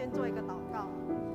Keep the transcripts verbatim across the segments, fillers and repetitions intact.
先做一个祷告。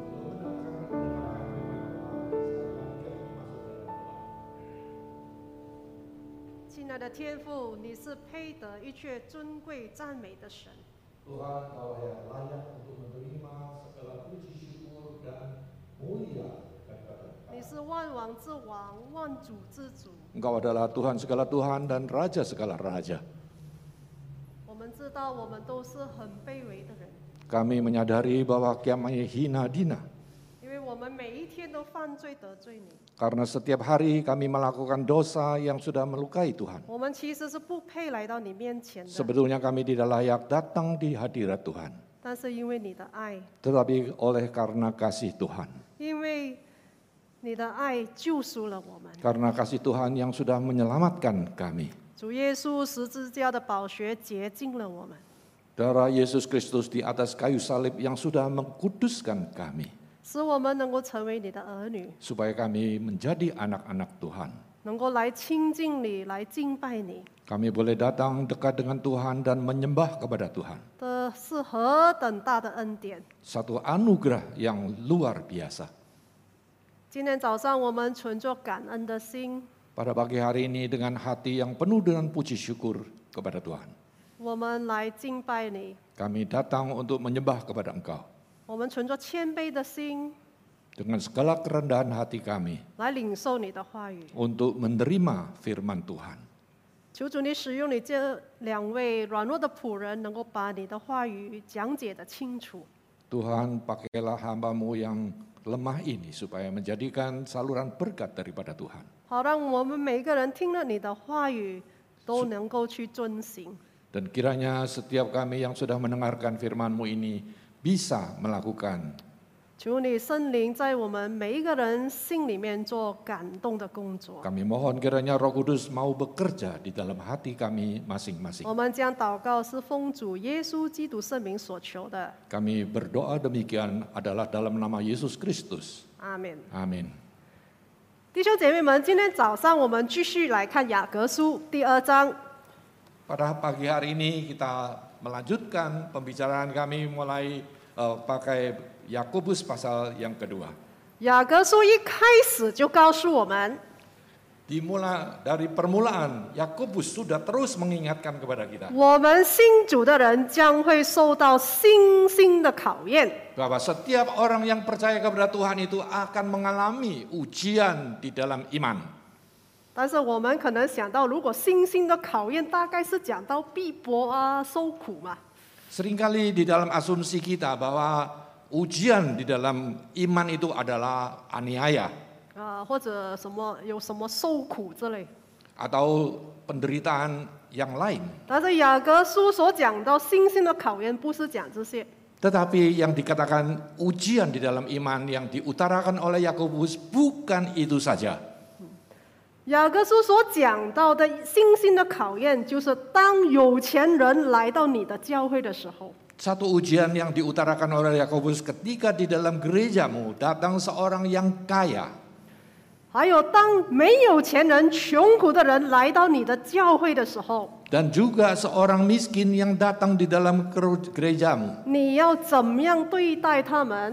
亲爱的天父，你是配得一切尊贵赞美的神。 Tuhan, Kau yang layak untuk menerima segala puji syukur dan mulia dan 你是万王之王，万主之主。 Engkau adalah Tuhan segala Tuhan dan Raja segala Raja. 我们知道我们都是很卑微的人， Kami menyadari bahwa kami hina dina. 因为我们每一天都犯罪得罪你。 Karena setiap hari kami melakukan dosa yang sudah melukai Tuhan. 我们其实是不配来到你面前的， Sebetulnya kami tidak layak datang di hadirat Tuhan. 但是因为你的爱， Tetapi oleh karena kasih Tuhan. 因为你的爱救赎了我们。 Karena kasih Tuhan yang sudah menyelamatkan kami. 主耶稣十字架的宝血洁净了我们， Darah Yesus Kristus di atas kayu salib yang sudah mengkuduskan kami. 使我们能够成为你的儿女， Supaya kami menjadi anak-anak Tuhan. 能够来亲近你，来敬拜你。 Kami boleh datang dekat dengan Tuhan dan menyembah kepada Tuhan. 这是何等大的恩典！ Satu anugerah yang luar biasa. 今天早上我们存着感恩的心， Pada pagi hari ini dengan hati yang penuh dengan puji syukur kepada Tuhan. 我们来敬拜你。 Kami datang untuk menyembah kepada Engkau. 我们存着谦卑的心， Dengan segala kerendahan hati kami 来领受你的话语。 untuk menerima firman Tuhan. 求主你使用你这两位软弱的仆人，能够把你的话语讲解得清楚。 Tuhan, pakailah hamba-Mu yang lemah ini supaya menjadikan saluran berkat daripada Tuhan. 好让我们每个人听了你的话语，都能够去遵行。 Dan kiranya setiap kami yang sudah mendengarkan firman-Mu ini bisa melakukan. 求你圣灵在我们每一个人心里面做感动的工作。 Kami mohon kiranya Roh Kudus mau bekerja di dalam hati kami masing-masing. 我们将祷告是奉主耶稣基督圣名所求的。 Kami berdoa demikian adalah dalam nama Yesus Kristus. 阿门。 Amin. 弟兄姐妹们，今天早上我们继续来看雅各书第二章。 Pada pagi hari ini kita melanjutkan pembicaraan kami mulai uh, pakai Yakobus pasal yang kedua. 雅各书一开始就告诉我们， Dimulai dari permulaan Yakobus sudah terus mengingatkan kepada kita 我们信主的人将会受到信心的考验。 bahwa setiap orang yang percaya kepada Tuhan itu akan mengalami ujian di dalam iman. 但是我们可能想到，如果信心的考验，大概是讲到逼迫啊、受苦嘛。 Seringkali di dalam asumsi kita bahwa ujian di dalam iman itu adalah aniaya 啊，或者什么有什么受苦之类。 atau penderitaan yang lain. 但是雅各书所讲到信心的考验，不是讲这些。 Tetapi yang dikatakan ujian di dalam iman yang diutarakan oleh Yakobus bukan itu saja. 雅各书所讲到的信心的考验，就是当有钱人来到你的教会的时候， Satu ujian yang diutarakan oleh Yakobus ketika di dalam gerejamu datang seorang yang kaya. 还有当没有钱人、穷苦的人来到你的教会的时候， Dan juga seorang miskin yang datang di dalam gerejamu. 你要怎么样对待他们？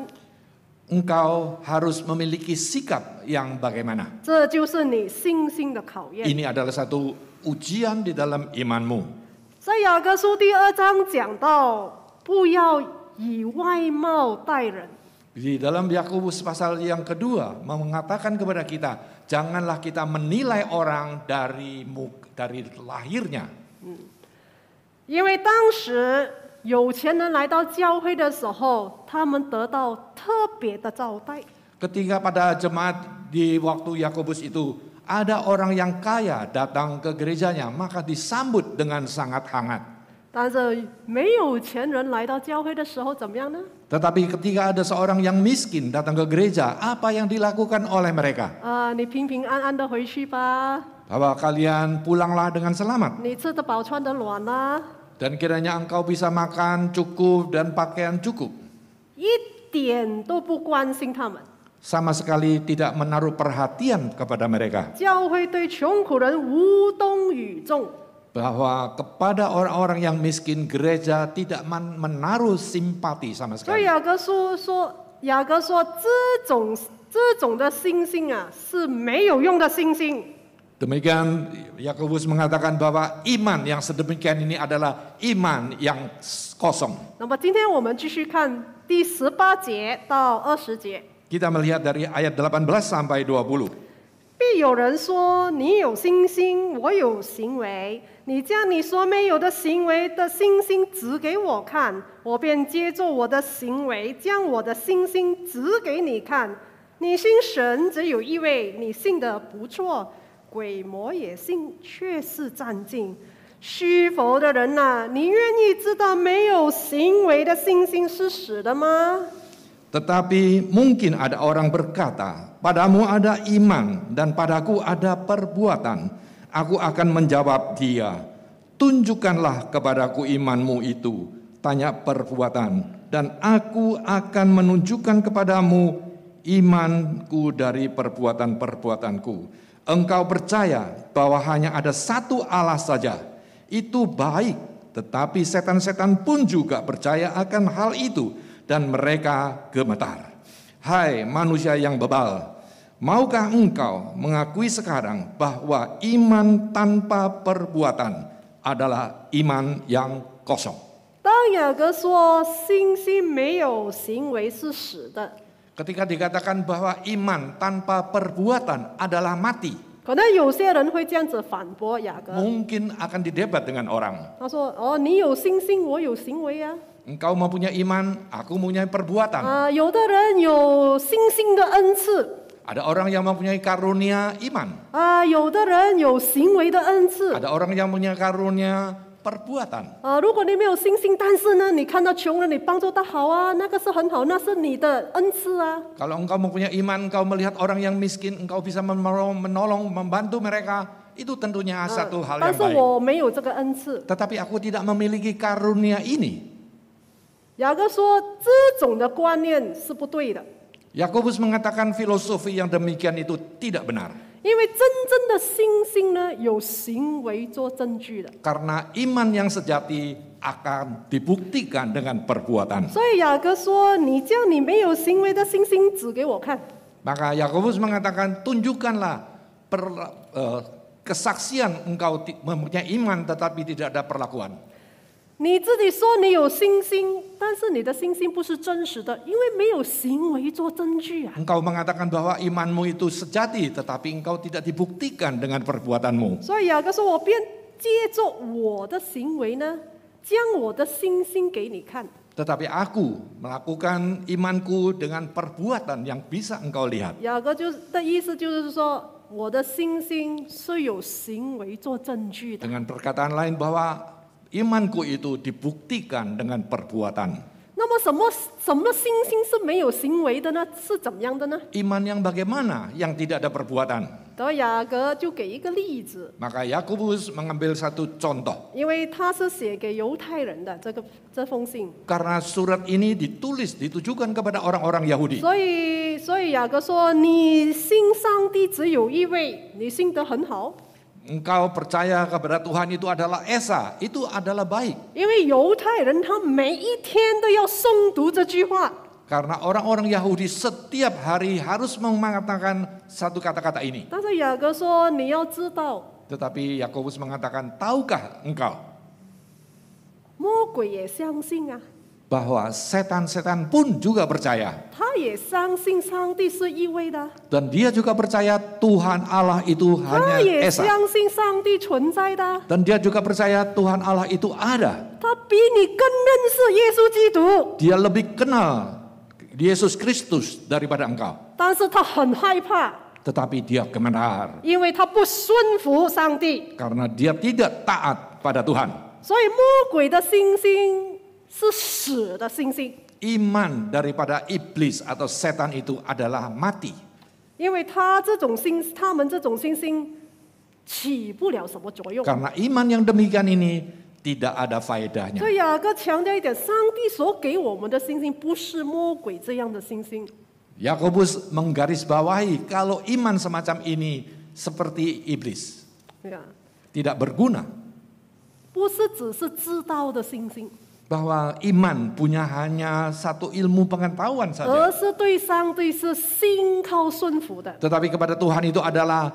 Engkau harus memiliki sikap yang bagaimana. 这就是你信心的考验。 Ini adalah satu ujian di dalam imanmu. 在雅各书第二章讲到，不要以外貌待人。 Di dalam Yakobus pasal yang kedua mengatakan kepada kita, janganlah kita menilai orang dari dari lahirnya. 因为当时有钱人来到教会的时候，他们得到特别的招待。 Ketika pada jemaat di waktu Yakobus itu ada orang yang kaya datang ke gerejanya, maka disambut dengan sangat hangat. 但是没有钱人来到教会的时候怎么样呢？ Tetapi ketika ada seorang yang miskin datang ke gereja, apa yang dilakukan oleh mereka? 啊、你平平安安的回去吧， Bahwa kalian pulanglah dengan selamat. 你吃得饱穿得暖啦、 Dan kiranya engkau bisa makan cukup dan pakaian cukup. 一点都不关心他们。 Sama sekali tidak menaruh perhatian kepada mereka. 教会对穷苦人无动于衷。 bahwa kepada orang-orang yang miskin gereja tidak menaruh simpati sama 所以 sekali. 雅各书说，雅各说这种这种的信心啊是没有用的信心。 Demikian Yakobus mengatakan bahwa iman yang sedemikian ini adalah iman yang kosong. 那么今天我们继续看第十八节到二十节。 Kita melihat dari ayat delapan belas sampai dua puluh. 必有人说：“你有信心，我有行为。你将你所没有的行为的信心指给我看，我便接着我的行为，将我的信心指给你看。你信神只有一位，你信的不错，鬼魔也信，却是战尽。虚浮的人呐、你愿意知道没有行为的信心是死的吗？” Tetapi mungkin ada orang berkata, padamu ada iman dan padaku ada perbuatan. Aku akan menjawab dia, tunjukkanlah kepadaku imanmu itu, tanya perbuatan. Dan aku akan menunjukkan kepadamu imanku dari perbuatan-perbuatanku. Engkau percaya bahwa hanya ada satu Allah saja, itu baik. Tetapi setan-setan pun juga percaya akan hal itu. Dan mereka gemetar. Hai manusia yang bebal, maukah engkau mengakui sekarang bahwa iman tanpa perbuatan adalah iman yang kosong? 当雅各说信心没有行为是死的， Ketika dikatakan bahwa iman tanpa perbuatan adalah mati, 可能有些人会这样子反驳雅各， mungkin akan didebat dengan orang. 他说：“哦，你有信心，我有行为啊。 Engkau mempunyai iman, aku mempunyai perbuatan. 啊，有的人有信心的恩赐， Ada orang yang mempunyai karunia iman. 啊，有的人有行为的恩赐。 Ada orang yang mempunyai karunia perbuatan. 啊，如果你没有信心，但是呢，你看到穷人，你帮助他好啊，那个是很好，那是你的恩赐啊。 Kalau engkau mempunyai iman, engkau melihat orang yang miskin, engkau bisa menolong, menolong membantu mereka, itu tentunya satu hal 但 yang 是 baik. 我没有这个恩赐。 Tetapi aku tidak memiliki karunia ini. 雅各说，这种的观念是不对的， Yakobus mengatakan filosofi yang demikian itu tidak benar. 因为真正的信心呢，有行为做证据的。 Karena iman yang sejati akan dibuktikan dengan perbuatan. 所以雅各说：“你将你没有行为的信心指给我看。” Maka Yakobus mengatakan tunjukkanlah per, eh, kesaksian engkau ti- mempunyai iman tetapi tidak ada perlakuan. 你自己说你有信心，但是你的信心不是真实的，因为没有行为做证据啊。 Engkau mengatakan bahwa imanmu itu sejati tetapi engkau tidak dibuktikan dengan perbuatanmu. 所以雅各说：“我便借着我的行为呢，将我的信心给你看。” Tetapi aku melakukan imanku dengan perbuatan yang bisa engkau lihat. 雅各就的意思就是说，我的信心是有行为做证据的。 Dengan perkataan lain bahwa imanku itu dibuktikan dengan perbuatan. 那么什么什么信心是没有行为的呢？是怎么样的呢？ Iman yang bagaimana yang tidak ada perbuatan? 然后雅各就给一个例子， Maka Yakobus mengambil satu contoh. 因为他是写给犹太人的这个这封信， Karena surat ini ditulis, ditujukan kepada orang-orang Yahudi. 所以所以雅各说：“你信上帝只有一位，你信得很好。” Engkau percaya kepada Tuhan itu adalah Esa, itu adalah baik. 因为犹太人他每一天都要诵读这句话， Karena orang-orang Yahudi setiap hari harus mengatakan satu kata-kata ini. 但是雅各说：“你要知道， Tetapi Yakobus mengatakan, tahukah engkau 魔鬼也相信啊， bahwa setan-setan pun juga percaya. 他也相信上帝是一位的， Dan dia juga percaya Tuhan Allah itu 他 hanya 也 Esa. 相信上帝存在的， Dan dia juga percaya Tuhan Allah itu ada. 他比你更认识耶稣基督， Dia lebih kenal Yesus Kristus daripada engkau. 但是他很害怕， Tetapi dia gemetar 因为他不顺服上帝， karena dia tidak taat pada Tuhan. 所以魔鬼的信心是死的信心， Iman daripada iblis atau setan itu adalah mati. 因为他这种信，他们这种信心起不了什么作用。 Karena iman yang demikian ini tidak ada faedahnya. 所以雅各强调一点，上帝所给我们的信心不是魔鬼这样的信心。 Yakobus menggarisbawahi kalau iman semacam ini seperti iblis, 对啊， tidak berguna. 不是只是知道的信心， bahwa iman punya hanya satu ilmu pengetahuan 而 saja. 是对上帝是信靠顺服的。 Tetapi kepada Tuhan itu adalah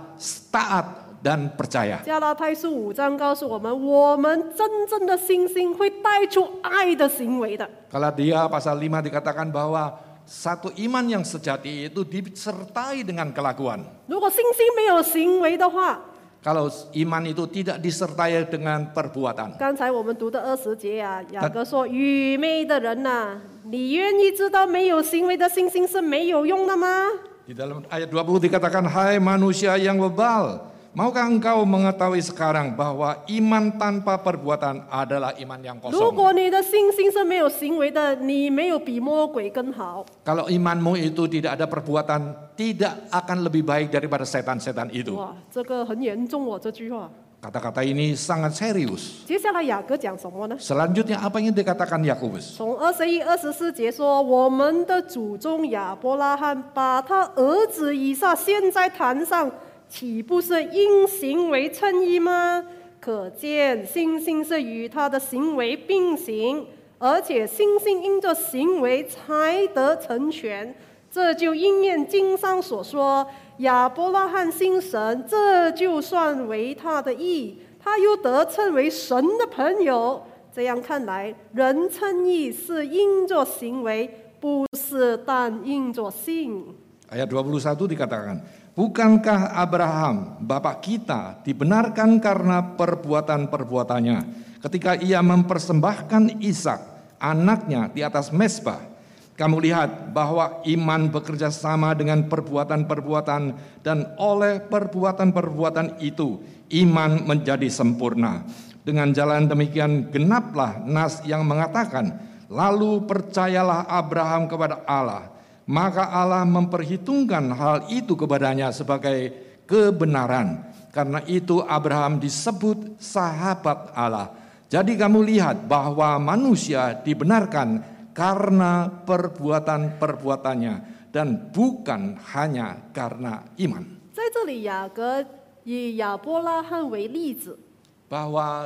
taat dan percaya. 加拉太书五章告诉我们，我们真正的信心会带出爱的行为的。 Kalau dia pasal lima dikatakan bahwa satu iman yang sejati itu disertai dengan kelakuan. 如果信心没有行为的话， Kalau iman itu tidak disertai dengan perbuatan. 刚才我们读的二十节啊，雅各说：“愚昧的人呐、你愿意知道没有行为的信心是没有用的吗？” Di dalam ayat dua puluh dikatakan, hai manusia yang bebal, maukah engkau mengetahui sekarang bahwa iman tanpa perbuatan adalah iman yang 如 kosong. 果你的信心是没有行为的，你没有比魔鬼更好。 Kalau imanmu itu tidak ada perbuatan, tidak akan lebih baik daripada setan-setan itu. 哇，这个很严重哦，这句话。 Kata-kata ini sangat serius. 接下来雅各讲什么呢？ Selanjutnya apa yang dikatakan Yakobus? 从二十一、二十四节说，我们的祖宗亚伯拉罕把他儿子以撒献在坛上，岂不是因行为称义吗？可见信心是与他的行为并行，而且信心因着行为才得成全。这就应验经上所说：亚伯拉罕信神，这就算为他的义，他又得称为神的朋友。这样看来，人称义是因着行为，不是但因着信。 Ayat dua puluh satu dikatakan, bukankah Abraham, bapak kita, dibenarkan karena perbuatan-perbuatannya ketika ia mempersembahkan Ishak, anaknya, di atas mezbah? Kamu lihat bahwa iman bekerja sama dengan perbuatan-perbuatan, dan oleh perbuatan-perbuatan itu iman menjadi sempurna. Dengan jalan demikian genaplah nas yang mengatakan, lalu percayalah Abraham kepada Allah, maka Allah memperhitungkan hal itu kepadanya sebagai kebenaran. Karena itu Abraham disebut sahabat Allah. Jadi kamu lihat bahwa manusia dibenarkan karena perbuatan-perbuatannya dan bukan hanya karena iman. 在这里，雅各以亚伯拉罕为例子， Bahwa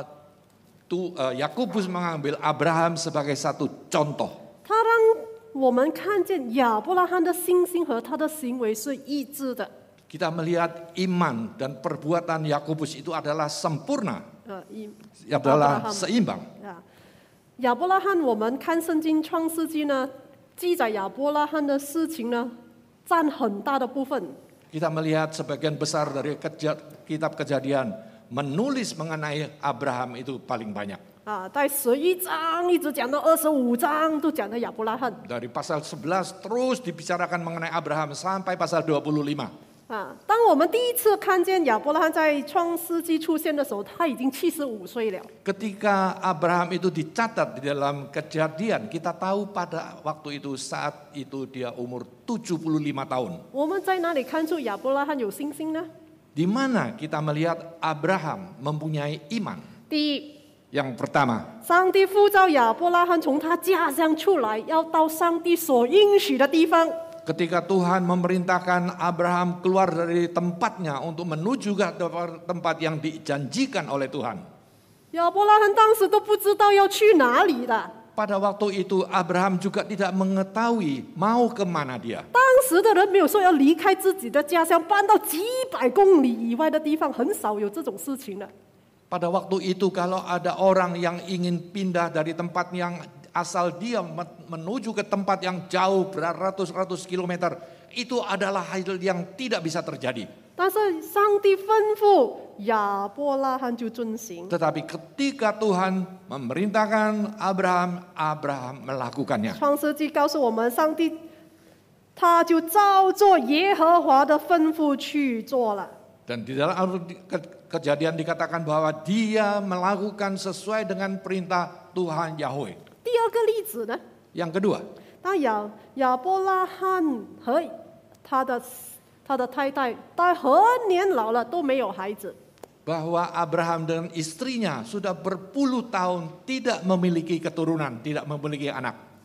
tu, uh, Yakobus mengambil Abraham sebagai satu contoh. 他让我们看见亚伯拉罕的信心和他的行为是一致的。 Kita melihat iman dan perbuatan Yakobus itu adalah sempurna, 呃，一 adalah Abraham seimbang. 啊，亚伯拉罕，我们看圣经创世纪呢，记载亚伯拉罕的事情呢，占很大的部分。 Kita melihat sebagian besar dari keja- kitab Kejadian menulis mengenai Abraham itu paling banyak. 啊，在十一章一直讲到二十五章，都讲到亚伯拉罕。 Dari pasal sebelas terus dibicarakan mengenai Abraham sampai pasal dua puluh lima. 啊，当我们第一次看见亚伯拉罕在创世纪出现的时候，他已经七十五岁了。 Ketika Abraham itu dicatat di dalam Kejadian, kita tahu pada waktu itu saat itu dia umur tujuh puluh lima tahun. 我们在哪里看出亚伯拉罕有信心呢？ Di mana kita melihat Abraham mempunyai iman? 第一， Yang pertama, 上帝呼召亚伯拉罕从他家乡出来，要到上帝所应许的地方。 ketika Tuhan memerintahkan Abraham keluar dari tempatnya untuk menuju ke tempat yang dijanjikan oleh Tuhan. 亚伯拉罕当时都不知道要去哪里的。 Pada waktu itu Abraham juga tidak mengetahui mau kemana dia. 当时的人没有说要离开自己的家乡，搬到几百公里以外的地方，很少有这种事情的。 Pada waktu itu kalau ada orang yang ingin pindah dari tempat yang asal dia menuju ke tempat yang jauh beratus-ratus kilometer, itu adalah hal yang tidak bisa terjadi. 但是上帝吩咐亚伯拉罕就遵行。 Tetapi ketika Tuhan memerintahkan Abraham, Abraham melakukannya. 创世纪告诉我们，上帝他就照做耶和华的吩咐去做了。 Dan di dalam Kejadian dikatakan bahwa dia melakukan sesuai dengan perintah Tuhan Yahweh. 第二个例子呢， Yang kedua, 当亚亚伯拉罕和他的他的太太到很年老了都没有孩子， bahwa Abraham dan istrinya sudah berpuluh tahun tidak memiliki keturunan, tidak memiliki anak.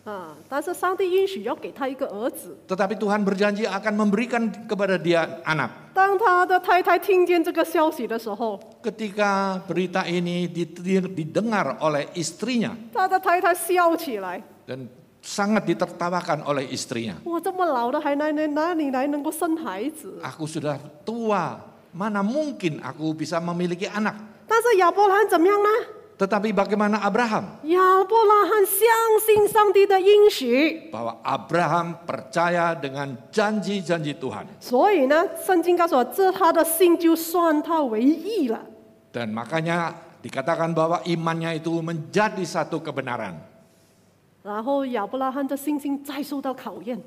啊，但是上帝应许要给他一个儿子。 Tetapi Tuhan berjanji akan memberikan kepada dia anak. 当他的太太听见这个消息的时候， Ketika berita ini didengar oleh istrinya 他的太太笑起来。 dan sangat ditertawakan oleh istrinya. 我这么老了还哪哪哪里来能够生孩子？ Aku sudah tua, mana mungkin aku bisa memiliki anak? 但是亚伯拉罕怎么样呢？ Tetapi bagaimana Abraham? 亚伯拉罕相信上帝的应许， Bahwa Abraham percaya dengan janji-janji Tuhan. 所以呢，圣经告诉我，这他的信就算他为义了。 Dan makanya dikatakan bahwa imannya itu menjadi satu kebenaran. 然后亚伯拉罕的信心再受到考验。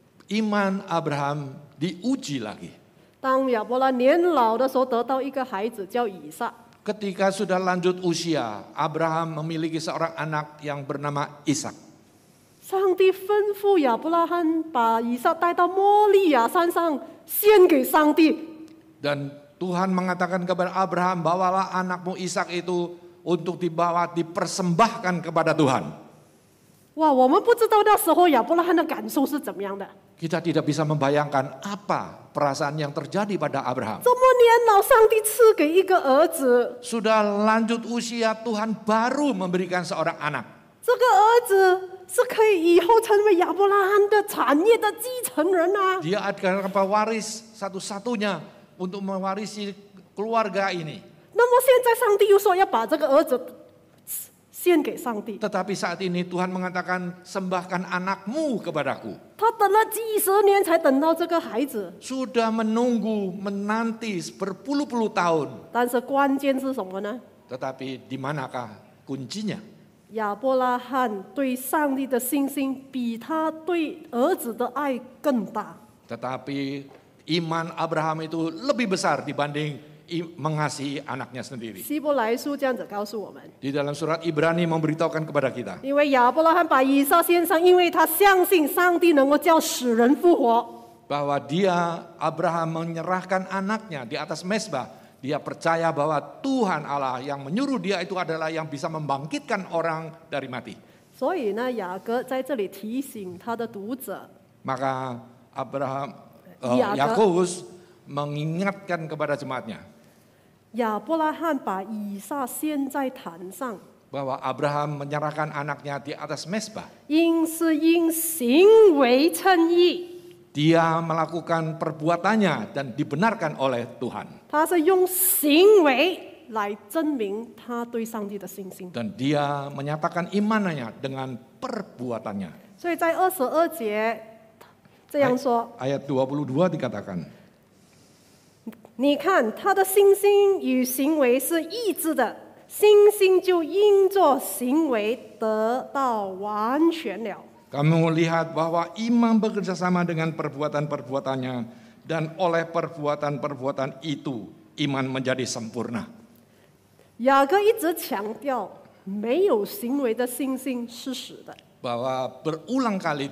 Iman Abraham diuji lagi. 当亚伯拉年老的时候，得到一个孩子叫以撒。 Ketika sudah lanjut usia, Abraham memiliki seorang anak yang bernama Ishak. 上帝吩咐亚伯拉罕把以撒带到摩利亚山上献给上帝。 Dan Tuhan mengatakan kepada Abraham, bawalah anakmu Ishak itu untuk dibawa dipersembahkan kepada Tuhan. 哇，我们不知道那时候亚伯拉罕的感受是怎么样的。 Kita tidak bisa membayangkan apa perasaan yang terjadi pada Abraham. 这么年老，上帝赐给一个儿子， Sudah lanjut usia, Tuhan baru memberikan seorang anak. 这个儿子是可以以后成为亚伯拉罕的产业的继承人啊。 Dia adalah pewaris satu-satunya untuk mewarisi keluarga ini. 那么现在上帝又说要把这个儿子献给上帝， Tetapi saat ini Tuhan mengatakan, sembahkan anakmu kepadaku. 他等了几十年才等到这个孩子， Sudah menunggu, menanti berpuluh-puluh tahun. 但是关键是什么呢？ Tetapi di manakah kuncinya? 亚伯拉罕对上帝的信心比他对儿子的爱更大。 Tetapi iman Abraham itu lebih besar dibanding mengasihi anaknya sendiri. 希伯来书这样子告诉我们， Di dalam surat Ibrani memberitahukan kepada kita 因为亚伯拉罕把以撒献上，因为他相信上帝能够叫死人复活。 bahwa dia Abraham menyerahkan anaknya di atas mezbah. Dia percaya bahwa Tuhan Allah yang menyuruh dia itu adalah yang bisa membangkitkan orang dari mati. 所以呢，雅各在这里提醒他的读者， Maka Abraham uh, Yaakov- Yakobus mengingatkan kepada jemaatnya 亚伯拉罕把以撒献在坛上， bahwa Abraham menyerahkan anaknya di atas mezbah. 因是因行为称义， Dia melakukan perbuatannya dan dibenarkan oleh Tuhan. 他是用行为来证明他对上帝的信心。 Dan dia menyatakan imannya dengan perbuatannya. 所以在二十二节这样说。 Ayat dua puluh dua dikatakan, 你看他的信心与行为是一致的，信心就因着行为得到完全了。 kamu lihat bahwa iman bekerja sama dengan perbuatan-perbuatannya, dan oleh perbuatan-perbuatan itu iman menjadi sempurna. 雅各一直强调，没有行为的信心是死的。 Bahwa berulang kali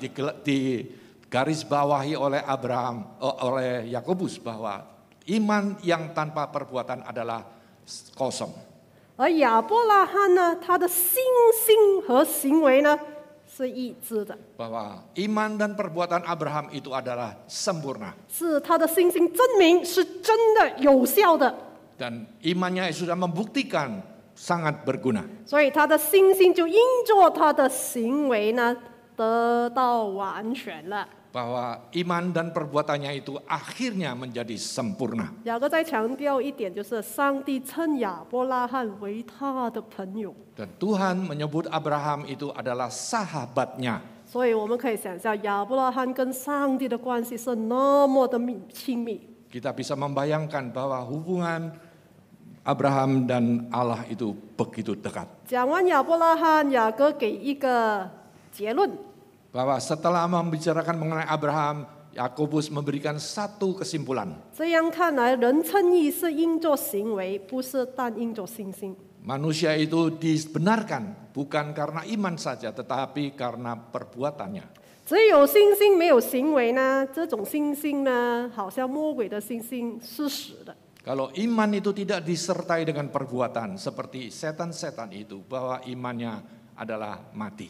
digarisbawahi oleh Abraham, oleh Yakobus, bahwa iman yang tanpa perbuatan adalah kosong. 而亚伯拉罕呢，他的信心和行为呢是一致的， Bahwa iman dan perbuatan Abraham itu adalah sempurna. 是他的信心证明是真的有效的， Dan imannya sudah membuktikan sangat berguna. 所以他的信心就因着他的行为呢得到完全了。 Bahwa iman dan perbuatannya itu akhirnya menjadi sempurna. 雅各再强调一点，就是上帝称亚伯拉罕为他的朋友， Dan Tuhan menyebut Abraham itu adalah sahabatnya. 所以我们可以想象亚伯拉罕跟上帝的关系是那么的密亲密。 Kita bisa membayangkan bahwa hubungan Abraham dan Allah itu begitu dekat. 讲完亚伯拉罕，雅各给一个结论。 Bahwa setelah membicarakan mengenai Abraham, Yakobus memberikan satu kesimpulan. 这样看来，人称义是因着行为，不是但因着信心。 Manusia itu dibenarkan bukan karena iman saja, tetapi karena perbuatannya. 只有信心没有行为呢，这种信心呢，好像魔鬼的信心是死的。 Kalau iman itu tidak disertai dengan perbuatan, seperti setan-setan itu, bahwa imannya adalah mati.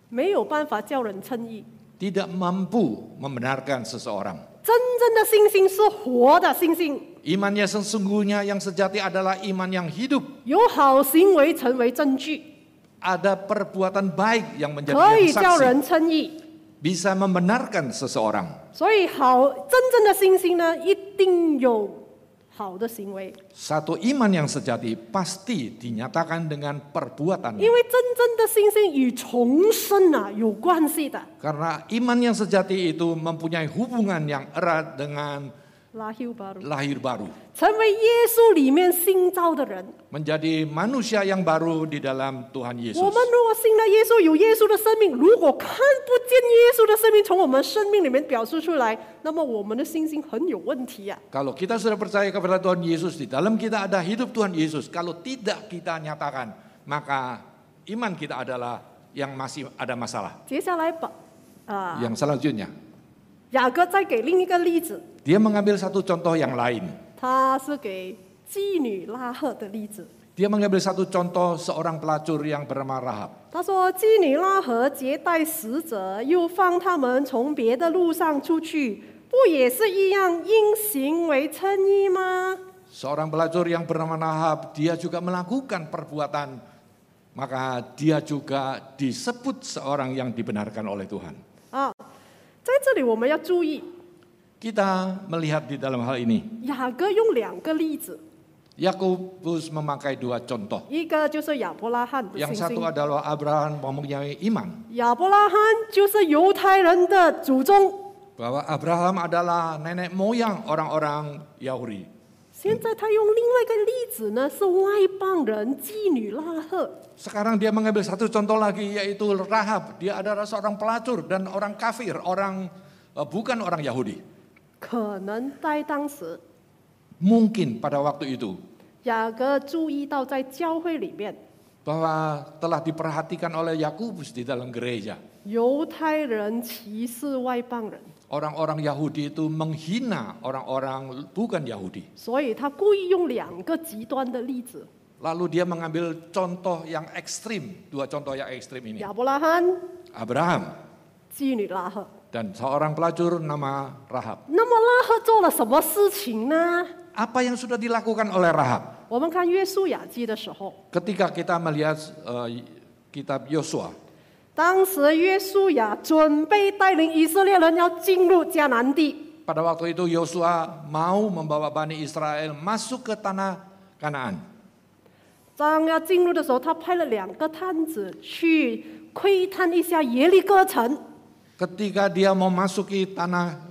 没有办法叫人称义。 tidak mampu membenarkan seseorang. 真正的信心是活的信心， Iman yang sesungguhnya yang sejati adalah iman yang hidup. 有好行为成为证据， Ada perbuatan baik yang menjadi 可以 yang 叫 saksi, 人称义。 bisa membenarkan seseorang. 所以好，真正的信心呢，一定有好的行为， Satu iman yang sejati pasti dinyatakan dengan perbuatan. 因为真正的信心与重生啊有关系的。 Karena iman yang sejati itu mempunyai hubungan yang erat dengan lahir baru， lahir baru. 成为耶稣里面新造的人。 Menjadi manusia yang baru di dalam Tuhan 我 Yesus. 们如果信了耶稣，有耶稣的生命，如果看不见耶稣的生命从我们生命里面表述出来，那么我们的信心很有问题啊。 Kalau kita sudah percaya kepada Tuhan Yesus, di dalam kita ada hidup Tuhan Yesus. Kalau tidak kita nyatakan, maka iman kita adalah yang masih ada masalah. 接下来把啊， Yang selanjutnya, 雅各再给另一个例子， dia mengambil satu contoh yang lain. 他是给妓女拉赫的例子。 Dia mengambil satu contoh seorang pelacur yang bernama Rahab. 他说：“妓女拉合接待使者，又放他们从别的路上出去，不也是一样因行为称义吗？” Seorang pelacur yang bernama Rahab, dia juga melakukan perbuatan, maka dia juga disebut seorang yang dibenarkan oleh Tuhan. 啊，在这里我们要注意， Kita melihat di dalam hal ini, 雅各用两个例子， Yakobus memakai dua contoh. 一个就是亚伯拉罕的信 Yang 心 satu，adalah Abraham mempunyai iman, 亚伯拉罕就是犹太人的祖宗。 bahwa Abraham adalah nenek moyang orang-orang Yahudi. 现在他用另外一个例子呢，是外邦人妓女拉赫。 Sekarang dia mengambil satu contoh lagi, yaitu Rahab. Dia adalah seorang pelacur dan orang kafir, orang uh, bukan orang Yahudi. 可能在当时， Mungkin pada waktu itu 雅各注意到在教会里面， bahwa telah diperhatikan oleh Yakobus di dalam gereja. 犹太人歧视外邦人， Orang-orang Yahudi itu menghina orang-orang bukan Yahudi. 所以他故意用两个极端的例子： Lalu dia mengambil contoh yang ekstrim, dua contoh yang ekstrim ini. 亚伯拉罕、 Abraham 妓女拉赫。 dan seorang pelacur nama Rahab. 那么拉赫做了什么事情呢？ Apa yang sudah dilakukan oleh Rahab? 我们看约书亚记的时候， Ketika kita melihat uh, kitab Yosua, 当时约书亚准备带领以色列人要进入迦南地。 pada waktu itu Yosua mau membawa Bani Israel masuk ke tanah Kanaan. 当要进入的时候，他派了两个探子去窥探一下耶利哥城。 Ketika dia mau masuki tanah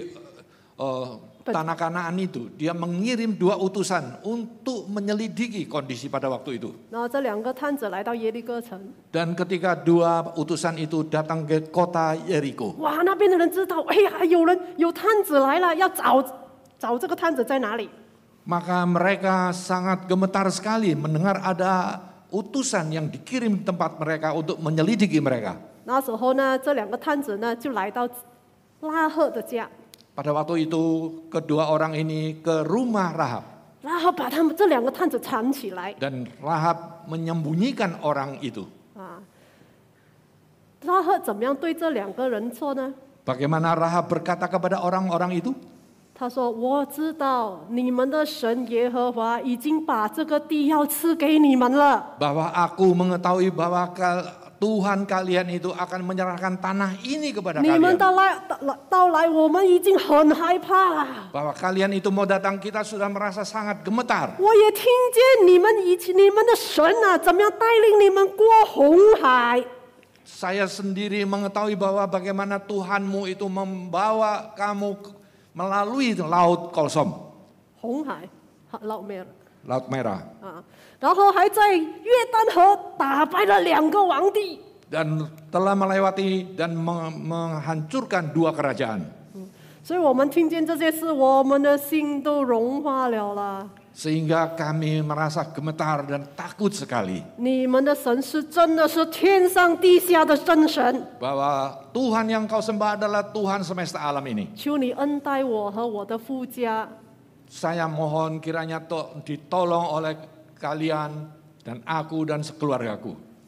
uh, tanah Kanaan itu, dia mengirim dua utusan untuk menyelidiki kondisi pada waktu itu. 然后这两个探子来到耶利哥城， Dan ketika dua utusan itu datang ke kota Yeriko, 哇，那边的人知道，哎呀，有人有探子来了，要找找这个探子在哪里。 maka mereka sangat gemetar sekali mendengar ada utusan yang dikirim ke tempat mereka untuk menyelidiki mereka. 那时候呢，这两个探子呢就来到拉赫的家， Pada waktu itu kedua orang ini ke rumah Rahab 然后把他们这两个探子藏起来 dan Rahab menyembunyikan orang itu. 啊。拉赫怎么样对这两个人说呢？ Bagaimana Rahab berkata kepada orang-orang itu? 他说：“我知道你们的神耶和华已经把这个地要赐给你们了。 Bahwa aku mengetahui bahwa Tuhan kalian itu akan menyerahkan tanah ini kepada 你们 kalian. 到来到来到来，我们已经很害怕了。 Bahwa kalian itu mau datang, kita sudah merasa sangat gemetar. 我也听见你们以前你们的神啊，怎么样带领你们过红海。 Saya sendiri mengetahui bahwa bagaimana Tuhanmu itu membawa kamu melalui laut Kolsom, 红海，老没了 Laut Merah, 啊，然后还在约旦河打败了两个皇帝。 dan telah melewati dan meng- menghancurkan dua kerajaan. 所以我们听见这些事，我们的心都融化了啦。 Sehingga kami merasa gemetar dan takut sekali 你们的神是真的是天上地下的真神， bahwa Tuhan yang kau sembah adalah Tuhan semesta alam ini. 求你恩待我和我的夫家。 Saya mohon kiranya to- ditolong oleh kalian dan aku dan sekeluargaku.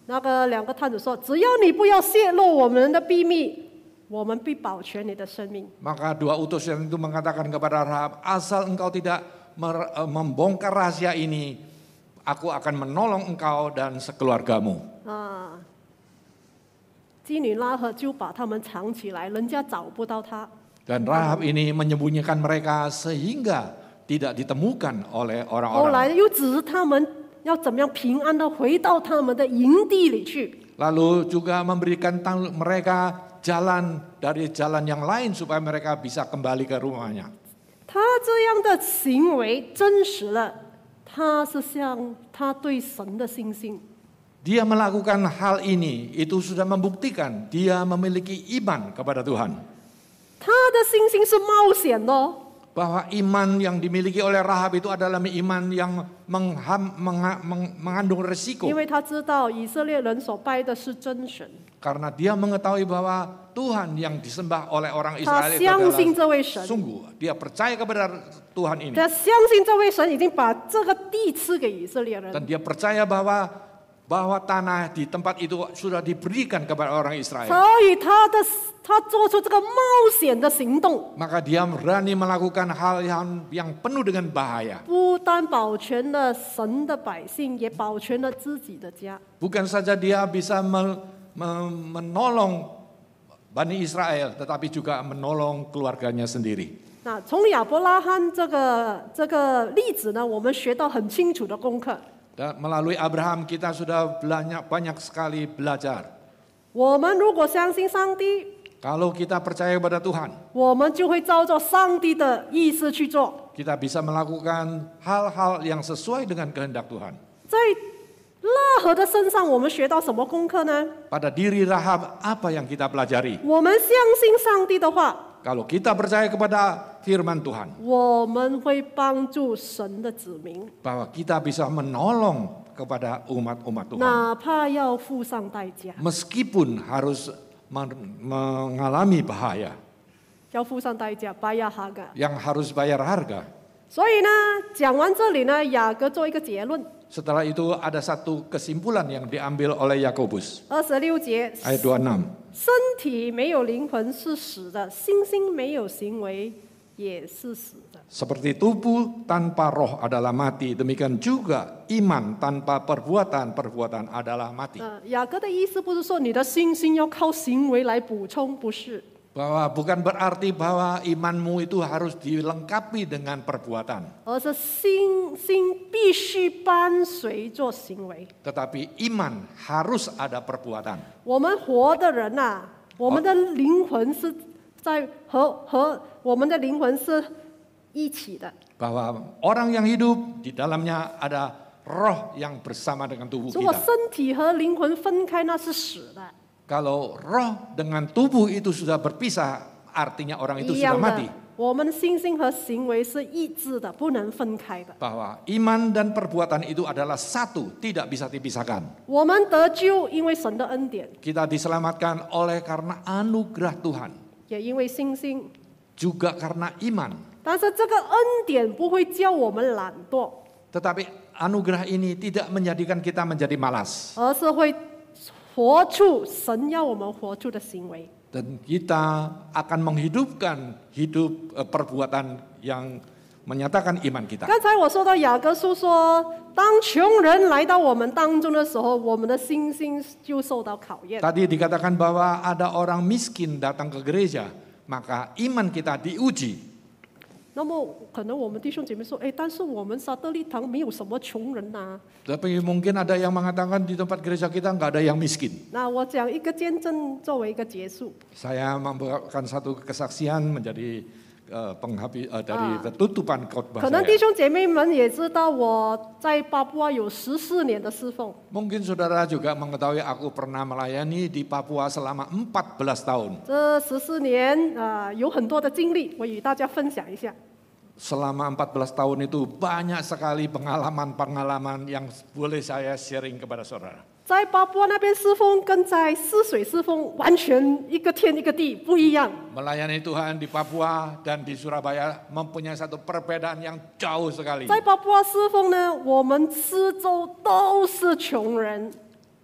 那个两个探子说：“只要你不要泄露我们的秘密，我们必保全你的生命。” Maka dua utusan itu mengatakan kepada Rahab, asal engkau tidak membongkar rahasia ini, aku akan menolong engkau dan sekeluargamu. 啊，妓女拉合就把他们藏起来，人家找不到他。 Dan Rahab ini menyembunyikan mereka sehingga tidak ditemukan oleh 后 orang-orang. 来又指示他们要怎么样平安的回到他们的营地里去。 Lalu juga memberikan mereka jalan dari jalan yang lain supaya mereka bisa kembali ke rumahnya. 他这样的行为证实了他是向他对神的信心。 Dia melakukan hal ini, itu sudah membuktikan dia memiliki iman kepada Tuhan. 他的信心是冒险的哦。 Bahwa iman yang dimiliki oleh Rahab itu adalah iman yang mengham, mengha, meng, mengandung resiko. 因为他知道以色列人所拜的是真神， Karena dia mengetahui bahwa Tuhan yang disembah oleh orang 他 Israel itu 相信这 adalah 位神， sungguh. Dia percaya kepada Tuhan ini. 他相信这位神已经把这个地赐给以色列人， Dan dia percaya bahwa bahwa tanah di tempat itu sudah diberikan kepada orang Israel. 所以他的他做出这个冒险的行动， Maka dia berani melakukan hal yang, yang penuh dengan bahaya. 不单保全了神的百姓，也保全了自己的家。 Bukan saja dia bisa me, me, menolong Bani Israel, tetapi juga menolong keluarganya sendiri. 那从亚伯拉罕这个这个例子呢，我们学到很清楚的功课。 Dan melalui Abraham kita sudah banyak, banyak sekali belajar. 我们如果相信上帝， Kalau kita percaya kepada Tuhan, 我们就会照着上帝的意思去做。 kita bisa melakukan hal-hal yang sesuai dengan kehendak Tuhan. 在拉合的身上，我们学到什么功课呢？ Pada diri Rahab, apa yang kita pelajari? 我们相信上帝的话， Kalau kita percaya kepada firman Tuhan, 我们会帮助神的子民， bahwa kita bisa menolong kepada umat-umat Tuhan. 哪怕要付上代价， Meskipun harus men- mengalami bahaya, 要付上代价，bayar harga。 yang harus bayar harga. 所以呢，讲完这里呢，雅各做一个结论， Setelah itu ada satu kesimpulan yang diambil oleh Yakobus 二十六节， ayat dua puluh enam. 身体没有灵魂是死的，信心没有行为也是死的。 Seperti tubuh tanpa roh adalah mati, demikian juga iman tanpa perbuatan, perbuatan adalah mati. 呃，雅各的意思不是说你的信心要靠行为来补充，不是。 Bahwa bukan berarti bahwa imanmu itu harus dilengkapi dengan perbuatan. 而是信心必须伴随着行为。 Tetapi iman harus ada perbuatan. 我们活的人呐、啊，我们的灵魂是在和和我们的灵魂是一起的。 Bahwa orang yang hidup di dalamnya ada roh yang bersama dengan tubuh 如果 kita. 身体和灵魂分开，那是死的。 Kalau roh dengan tubuh itu sudah berpisah, artinya orang itu 一 sudah 样 mati. 的，我们的信心和行为是一致的，不能分开的。 Bahwa iman dan perbuatan itu adalah satu, tidak bisa dipisahkan. 我们得救，因为神的恩典， Kita diselamatkan oleh karena anugerah Tuhan, 也因为信心。 juga karena iman. 但是这个恩典不会叫我们懒惰， Tetapi anugerah ini tidak menjadikan kita menjadi malas. 而是会活出神要我们活出的行为。 Dan kita akan menghidupkan hidup eh, perbuatan yang menyatakan iman kita. 刚才我说到雅各书说，当穷人来到我们当中的时候，我们的信心就受到考验。 Tadi dikatakan bahwa ada orang miskin datang ke gereja, maka iman kita diuji. 那么可能我们弟兄姐妹说，哎，但是我们撒德利堂没有什么穷人呐、 Tapi mungkin ada yang mengatakan di tempat gereja kita nggak ada yang miskin. 那我讲一个见证作为一个结束。 Saya membawakan satu kesaksian menjadi eh, penghabis eh, dari tutupan khotbah 可能 saya. 弟兄姐妹们也知道，我在巴布亚有十四年的侍奉。 Mungkin saudara juga mengetahui aku pernah melayani di Papua selama empat belas tahun. 这十四年啊、呃有很多的经历，我与大家分享一下。 Selama empat belas tahun itu banyak sekali pengalaman-pengalaman yang boleh saya sharing kepada saudara. 在巴布亚那边侍奉，跟在泗水侍奉完全一个天一个地不一样。 Melayani Tuhan di Papua dan di Surabaya mempunyai satu perbedaan yang jauh sekali. 在巴布亚侍奉呢，我们四周都是穷人。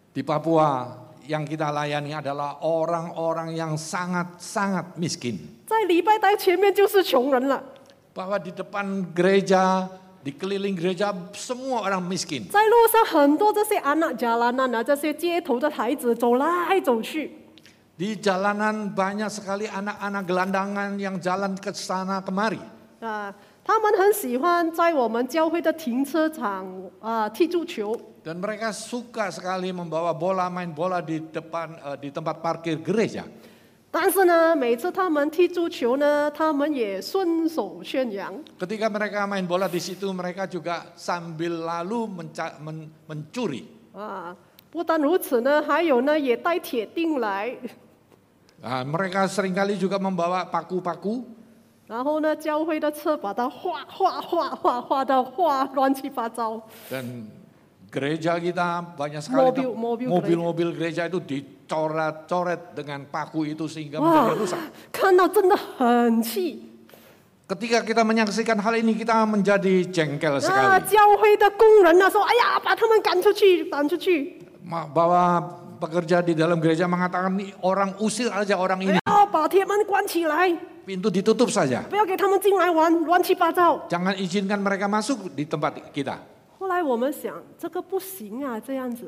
Di Papua yang kita layani adalah orang-orang yang sangat-sangat miskin. 在礼拜台前面就是穷人了， Bahwa di depan gereja, di keliling gereja semua orang miskin. 在路上很多这些anak jalanan 啊，这些街头的孩子走来走去。 Di jalanan banyak sekali anak-anak gelandangan yang jalan ke sana kemari. 啊，他们很喜欢在我们教会的停车场啊踢足球。 Dan mereka suka sekali membawa bola, main bola di depan eh, di tempat parkir gereja. 但是呢，每次他们踢足球呢，他们也顺手宣扬。 Ketika mereka main bola di situ, mereka juga sambil lalu menca- men- mencuri. 啊，不但如此呢，还有呢，也带铁钉来， Nah, mereka seringkali juga membawa paku-paku. 然后呢，教会的车把它画画画画画到画乱七八糟。 Dan gereja kita banyak sekali Mobil- tuh, mobil mobil-mobil gereja itu dicoret-coret dengan paku itu sehingga 哇 menjadi rusak. ， 看到真的很气。 Ketika kita menyaksikan hal ini kita menjadi jengkel 啊， sekali. 教会的工人呢说：“哎呀，把他们赶出去，赶出去！ Ma- Bahwa pekerja di dalam gereja mengatakan nih orang usir aja orang 不 ini, 要把铁门关起来， pintu ditutup saja. 不要给他们进来玩，乱七八糟。” Jangan izinkan mereka masuk di tempat kita. 后来我们想，这个不行啊，这样子。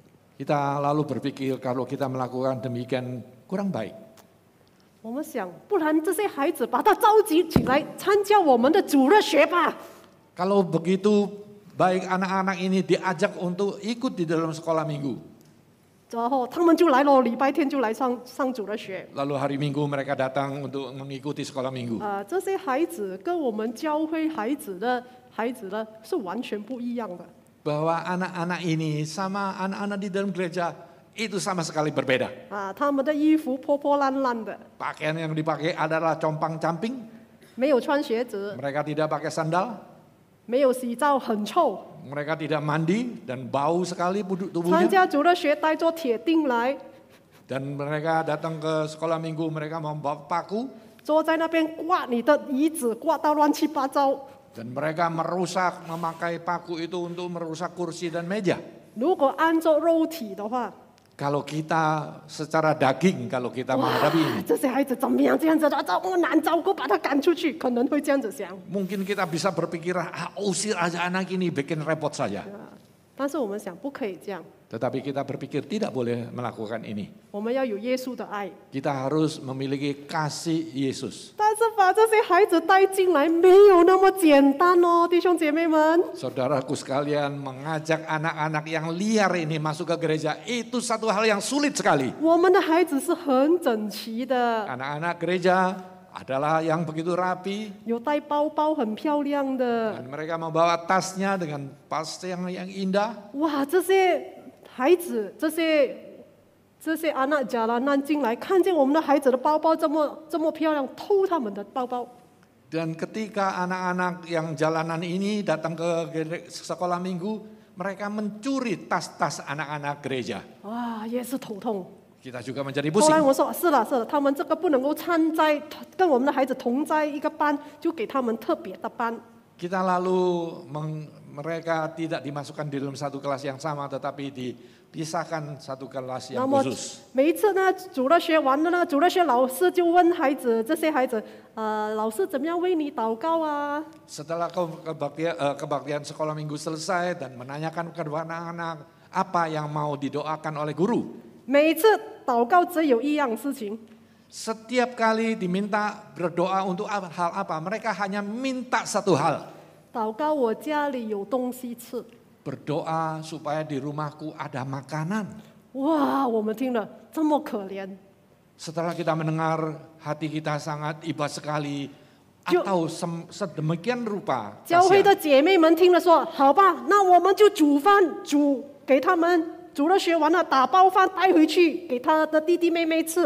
Kita lalu berpikir kalau kita melakukan demikian kurang baik. 我们想，不然这些孩子把他召集起来参加我们的主日学吧。 Kalau begitu baik anak-anak ini diajak untuk ikut di dalam sekolah minggu. 然后他们就来了，礼拜天就来上上主日学。 Lalu hari Minggu mereka datang untuk mengikuti sekolah minggu. 啊、这些孩子跟我们教会孩子的孩子呢是完全不一样的。 Bahwa anak-anak ini sama anak-anak di dalam gereja itu sama sekali berbeda. 啊，他们的衣服破破烂烂的， Pakaian yang dipakai adalah compang-camping. 没有穿鞋子， Mereka tidak pakai sandal. 没有洗澡，很臭。 Mereka tidak mandi dan bau sekali tubuh- 参 tubuhnya. 加主日学带着铁钉来， Dan mereka datang ke sekolah minggu mereka membawa paku 坐在那边刮你的椅子，刮到乱七八糟。 dan mereka merusak memakai paku itu untuk merusak kursi dan meja. 如果按照肉体的话， Kalau kita secara daging kalau kita 哇 menghadapi ini, 这些孩子怎么样？这样子的，这么难照顾，把他赶出去，可能会这样子想。 mungkin kita bisa berpikir ah, usir aja anak ini bikin repot saja. 啊，但是我们想，不可以这样， Tetapi kita berpikir tidak boleh melakukan ini. 我们要有耶稣的爱。 Kita harus memiliki kasih Yesus. 但是把这些孩子带进来，没有那么简单哦，弟兄姐妹们。 Saudaraku sekalian, mengajak anak-anak yang liar ini masuk ke gereja itu satu hal yang sulit sekali. 我们的孩子是很整齐的， Anak-anak gereja adalah yang begitu rapi 有带包包，很漂亮的。 dan mereka membawa tasnya dengan tas yang yang indah. 哇，这些孩子，这些这些阿纳贾拉难进来，看见我们的孩子的包包这么这么漂亮，偷他们的包包。 Dan ketika anak-anak yang jalanan ini datang ke gere- sekolah minggu, mereka mencuri tas-tas anak-anak gereja. 哇，也是头痛。 Kita juga menjadi 后来 pusing. 我说是了是了，他们这个不能够参在跟我们的孩子同在一个班，就给他们特别的班。 Kita lalu meng- mereka tidak dimasukkan di dalam satu kelas yang sama, tetapi dipisahkan satu kelas 那 yang 么 khusus. 每一次呢，主日学完了呢，主日学老师就问孩子，这些孩子，呃，老师怎么样为你祷告啊？ Setelah ke- kebaktian, eh, kebaktian sekolah minggu selesai dan menanyakan kepada anak-anak apa yang mau didoakan oleh guru. 每一次祷告只有一样事情， Setiap kali diminta berdoa untuk apa- hal apa, mereka hanya minta satu hal. 祷告我家里有东西吃。 Berdoa supaya di rumahku ada makanan. 哇，我们听了这么可怜， Setelah kita mendengar, hati kita sangat iba sekali. Jo- Atau sem- sedemikian rupa 教会 kasihan. 的姐妹们听了说：“好吧，那我们就煮饭，煮给他们，煮了学完了打包饭带回去给他的弟弟妹妹吃。”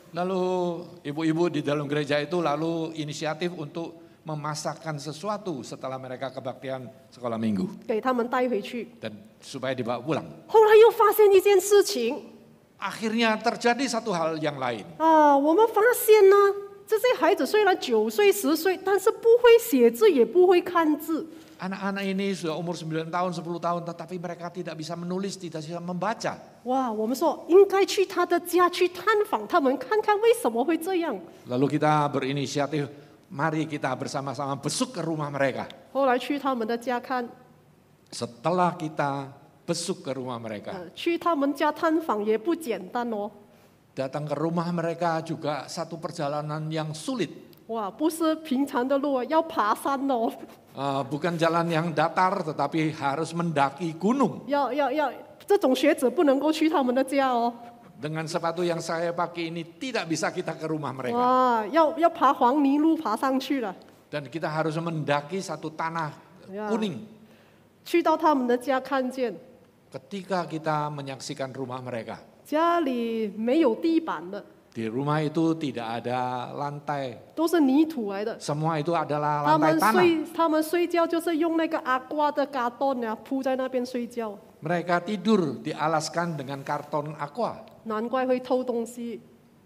Lalu ibu-ibu di dalam gereja itu lalu inisiatif untuk memasakkan sesuatu setelah mereka kebaktian sekolah minggu 给他们带回去。 dan supaya dibawa pulang. 后来又发现一件事情 Akhirnya terjadi satu hal yang lain. 啊，我们发现呢，这些孩子虽然九岁十岁，但是不会写字，也不会看字。 Anak-anak ini sudah umur sembilan tahun, sepuluh tahun, tetapi mereka tidak bisa menulis, tidak bisa membaca. 哇，我们说应该去他的家去探访他们，看看为什么会这样。 Lalu kita berinisiatif, mari kita bersama-sama besuk ke rumah mereka. 后来去他们的家看， Setelah kita besuk ke rumah mereka, 呃，去他们家探访也不简单哦。 datang ke rumah mereka juga satu perjalanan yang sulit. 哇，不是平常的路，要爬山哦， Uh, bukan jalan yang datar, tetapi harus mendaki gunung. 要要要，这种学者不能够去他们的家哦。 Dengan sepatu yang saya pakai ini tidak bisa kita ke rumah mereka. 哇，要要爬黄泥路爬上去了。 Dan kita harus mendaki satu tanah Ya. kuning. 去到他们的家看见， Ketika kita menyaksikan rumah mereka, 家里没有地板的， di rumah itu tidak ada lantai. 都是泥土来的。 Semua itu adalah 他 lantai 们 tanah. 睡，他们睡觉就是用那个阿瓜的嘎顿呀铺在那边睡觉， Mereka tidur dialaskan dengan karton aqua. 难怪会偷东西。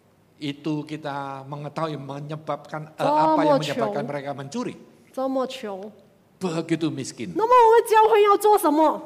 Itu kita mengetahui menyebabkan eh, Oh, apa yang mau menyebabkan ciong. mereka mencuri. 这么穷， Begitu miskin. 那么我们教会要做什么？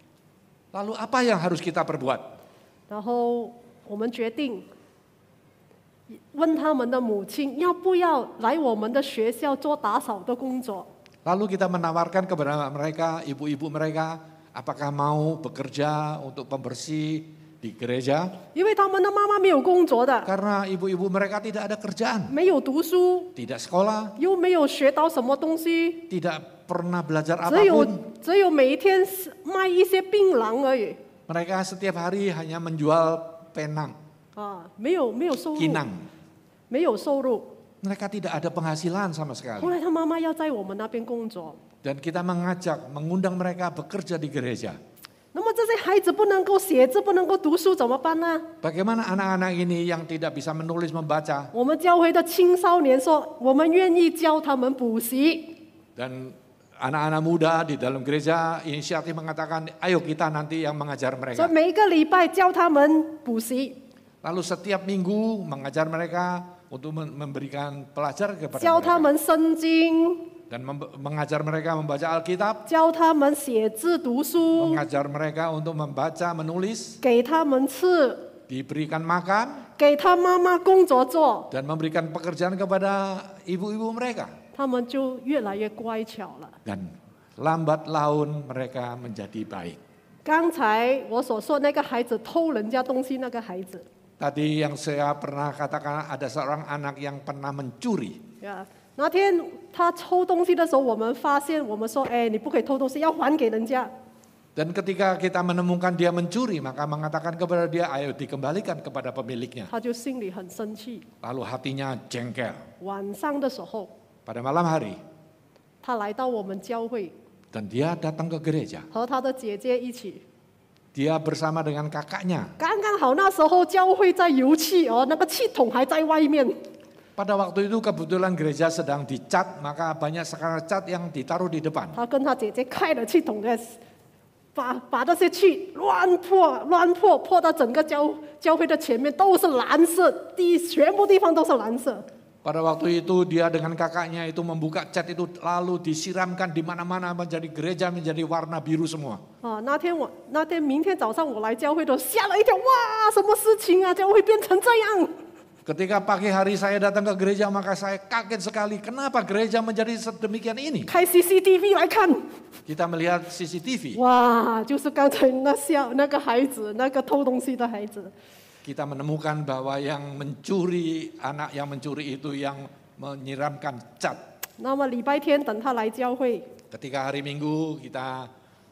Lalu apa yang harus kita perbuat? 然后我们决定问他们的母亲要不要来我们的学校做打扫的工作。 Lalu kita menawarkan kepada mereka, ibu-ibu mereka, apakah mau bekerja untuk pembersih di gereja? 因为他们的妈妈没有工作的， Karena ibu-ibu mereka tidak ada kerjaan, 没有读书， tidak sekolah, 又没有学到什么东西， tidak pernah belajar 只有 apapun. 只有每一天卖一些槟榔而已 Mereka setiap hari hanya menjual penang, 啊，没有没有收入， kinang. 没有收入。 Mereka tidak ada penghasilan sama 后 sekali. 来他妈妈要在我们那边工作， Dan kita mengajak, mengundang mereka bekerja di gereja. 那么这些孩子不能够写字，不能够读书怎么办呢？ Bagaimana anak-anak ini yang tidak bisa menulis membaca 我们教会的青少年说，我们愿意教他们补习。 dan anak-anak muda di dalam gereja inisiatif mengatakan, ayo kita nanti yang mengajar 所以 mereka. 每一个礼拜教他们补习， Lalu setiap minggu mengajar mereka untuk mem- memberikan pelajaran kepada 教他 mereka 们圣经， dan mem- mengajar mereka membaca Alkitab, 教他们写字读书， mengajar mereka untuk membaca, menulis, 给他们吃， diberikan makan 给他妈妈工作做， dan memberikan pekerjaan kepada ibu-ibu mereka. 他们就越来越乖巧了。 Dan lambat laun mereka menjadi baik. 刚才我所说那个孩子偷人家东西那个孩子， Tadi yang saya pernah katakan ada seorang anak yang pernah mencuri. 呀，那天他偷东西的时候，我们发现，我们说，哎，你不可以偷东西，要还给人家。 Dan ketika kita menemukan dia mencuri, maka mengatakan kepada dia, ayo dikembalikan kepada pemiliknya. 他就心里很生气。 Lalu hatinya jengkel. 晚上的时候， Pada malam hari, 他来到我们教会， dan dia datang ke gereja. 和他的姐姐一起。 Dia bersama dengan kakaknya. 刚刚好那时候教会在油气哦，那个气筒还在外面。 Pada waktu itu kebetulan gereja sedang dicat, maka banyak sekarang cat yang ditaruh di depan. 他跟他姐姐开了气筒的，把把那些气乱泼，乱泼，泼到整个教教会的前面都是蓝色，地全部地方都是蓝色。 Pada waktu itu dia dengan kakaknya itu membuka cat itu lalu disiramkan di mana-mana menjadi gereja menjadi warna biru semua. 啊，那天我那天明天早上我来教会的时候吓了一跳，哇，什么事情啊？教会变成这样？ Ketika pagi hari saya datang ke gereja maka saya kaget sekali. Kenapa gereja menjadi sedemikian ini? 开 C C T V 来看， Kita melihat C C T V. 哇，就是刚才那小那个孩子，那个偷东西的孩子。 Kita menemukan bahwa yang mencuri, anak yang mencuri itu yang menyiramkan cat. 那么礼拜天等他来教会， Ketika hari Minggu kita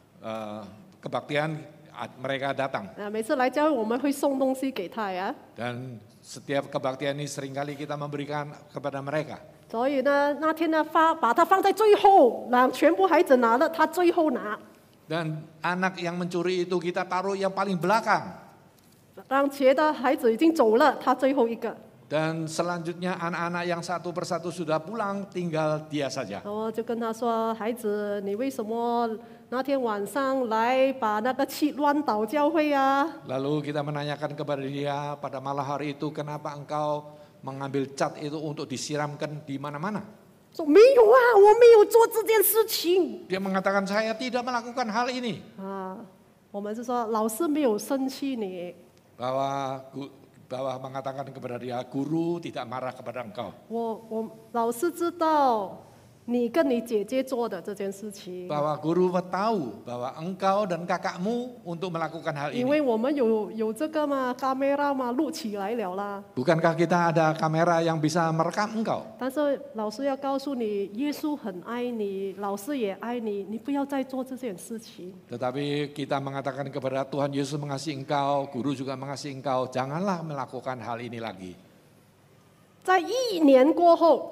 eh, kebaktian, a- mereka datang. 啊，每次来教会我们会送东西给他呀。 Dan setiap kebaktian ini seringkali kita memberikan kepada mereka. 所以呢，那天呢发把它放在最后，让全部孩子拿了，他最后拿， Dan anak yang mencuri itu kita taruh yang paling belakang. 让别的孩子已经走了，他最后一个。 Dan selanjutnya anak-anak yang satu persatu sudah pulang, tinggal dia saja. 然后就跟他说：“孩子，你为什么那天晚上来把那个气乱倒教会啊？ Lalu kita menanyakan kepada dia pada malam hari itu kenapa engkau mengambil cat itu untuk disiramkan di mana-mana. 说没有啊，我没有做这件事情 Dia mengatakan saya tidak melakukan hal ini. 啊。我们是说老师没有生气你， Bahwa bahwa mengatakan kepada dia, guru tidak marah kepada engkau. 我我老师知道你跟你姐姐做的这件事情， Bahwa guru tahu bahwa engkau dan kakakmu untuk melakukan hal 因 ini. 为我们有有这个嘛，camera 嘛，录起来了啦。 Bukankah kita ada kamera yang bisa merekam engkau? 但是老师要告诉你，耶稣很爱你，老师也爱你，你不要再做这件事情。 Tetapi kita mengatakan kepada Tuhan Yesus mengasihi engkau, guru juga mengasihi engkau, janganlah melakukan hal ini lagi. 在一年过后，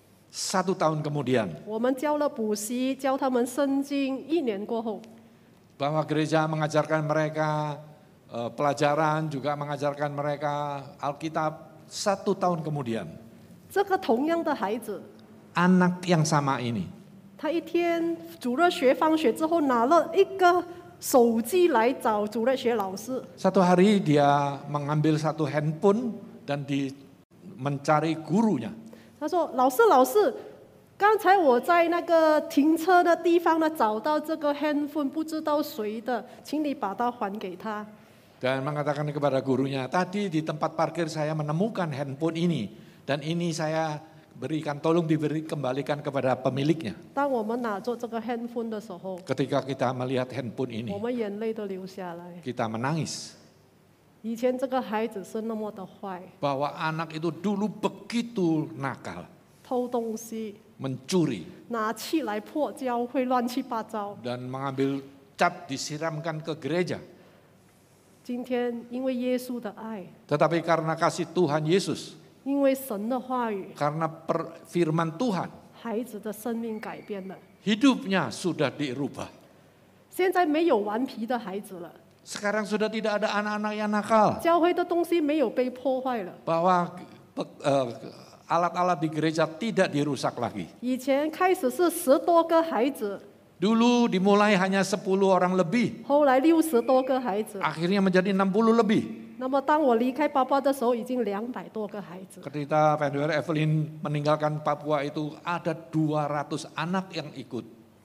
Satu tahun kemudian, 我们教了补习，教他们圣经。一年过后， bahwa gereja mengajarkan mereka eh, pelajaran, juga mengajarkan mereka Alkitab. Satu tahun kemudian, 这个同样的孩子， anak yang sama ini, 他一天主日学放学之后，拿了一个手机来找主日学老师。 satu hari dia mengambil satu handphone dan di mencari gurunya. 他说：“老师，老师，刚才我在那个停车的地方呢，找到这个 handphone， 不知道谁的，请你把它还给他。” Dan mengatakan kepada gurunya, tadi di tempat parkir saya menemukan handphone ini dan ini saya berikan, tolong diberi kembalikan kepada pemiliknya. 当我们拿着这个 handphone 的时候， Ketika kita melihat handphone 我 ini, 们眼泪都流下来。 kita menangis 以前这个孩子是那么的坏， bahwa anak itu dulu begitu nakal, 偷东西， mencuri 拿气来破教会，乱七八糟。 dan mengambil cat disiramkan ke gereja. 今天因为耶稣的爱， Tetapi karena kasih Tuhan Yesus, 因为神的话语， karena per- firman Tuhan, 孩子的生命改变了。 hidupnya sudah dirubah. 现在没有顽皮的孩子了， Sekarang sudah tidak ada anak-anak yang nakal. 教会的东西没有被破坏了。 Bahwa pe- eh, alat-alat di gereja tidak dirusak lagi. 以前开始是十多个孩子， Dulu dimulai hanya sepuluh orang lebih, 后来六十多个孩子。 akhirnya menjadi enam puluh lebih. 那么当我离开爸爸的时候，已经两百多个孩子。 Ketika Pendeta Evelyn meninggalkan Papua itu ada dua ratus anak yang ikut.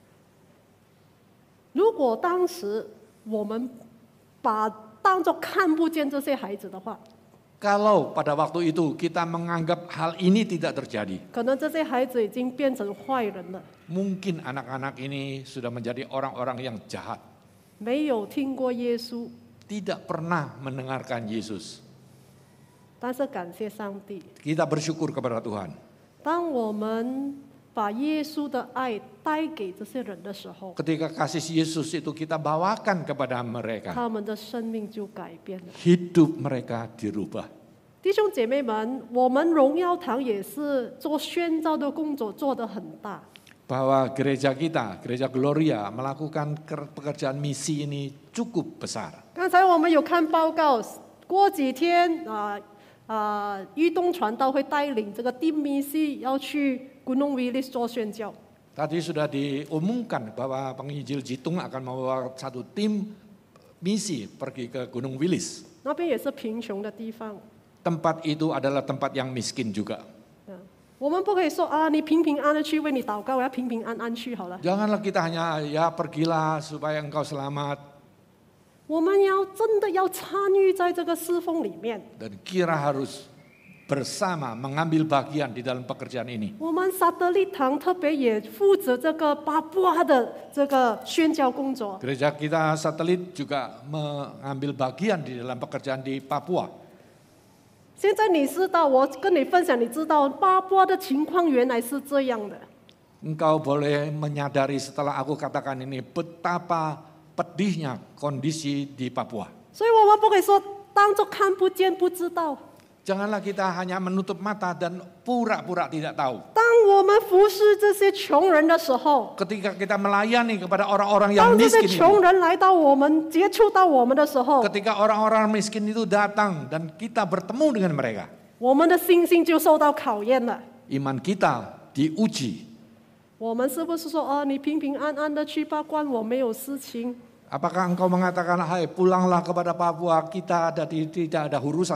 如果当时我们把当作看不见这些孩子的话， Kalau pada waktu itu kita menganggap hal ini tidak terjadi, 可能这些孩子已经变成坏人了， mungkin anak-anak ini sudah menjadi orang-orang yang jahat, 没有听过耶稣。 tidak pernah mendengarkan Yesus. 但是感谢上帝， Kita bersyukur kepada Tuhan. 当我们把耶稣的爱带给这些人的时候， Ketika kasih Yesus itu kita bawakan kepada mereka, 他们的生命就改变了。 hidup mereka dirubah. 弟兄姐妹们，我们荣耀堂也是做宣召的工作做得很大。 Bahwa gereja kita, gereja Gloria melakukan ker- pekerjaan misi ini cukup besar. 刚才我们有看报告，过几天啊啊，裕东传道会带领这个 team misi 要去 Gunung Wilis 做宣教。 Tadi sudah diumumkan bahwa penginjil Jitung akan membawa satu tim misi pergi ke Gunung Wilis. 那边也是贫穷的地方。 Tempat itu adalah tempat yang miskin juga. 啊我们不可以说啊，你平平安安的去为你祷告，我要平平安安去好了。 Janganlah kita hanya ya pergilah supaya engkau selamat 我们要真的要参与在这个侍奉里面。 dan kira harus bersama mengambil bagian di dalam pekerjaan ini. 我们撒德利堂特别也负责这个巴布亚的这个宣教工作。 Gereja kita satelit juga mengambil bagian di dalam pekerjaan di Papua. 现在你知道，我跟你分享，你知道巴布亚的情况原来是这样的。 Engkau boleh menyadari setelah aku katakan ini betapa pedihnya kondisi di Papua. 所以我们不可以说当作看不见、不知道。 Janganlah kita hanya menutup mata dan pura-pura tidak tahu. 当我们服侍这些穷人的时候， Ketika kita melayani kepada orang-orang yang 当这些 miskin 穷 itu, 人来到我们、接触到我们的时候， ketika orang-orang miskin itu datang dan kita bertemu dengan mereka, 我们的信心就受到考验了。 iman kita diuji. 我们是不是说，哦，你平平安安的去吧，关我没有事情？ Apakah engkau mengatakan, hai pulanglah kepada Papua, kita ada di, tidak ada urusannya.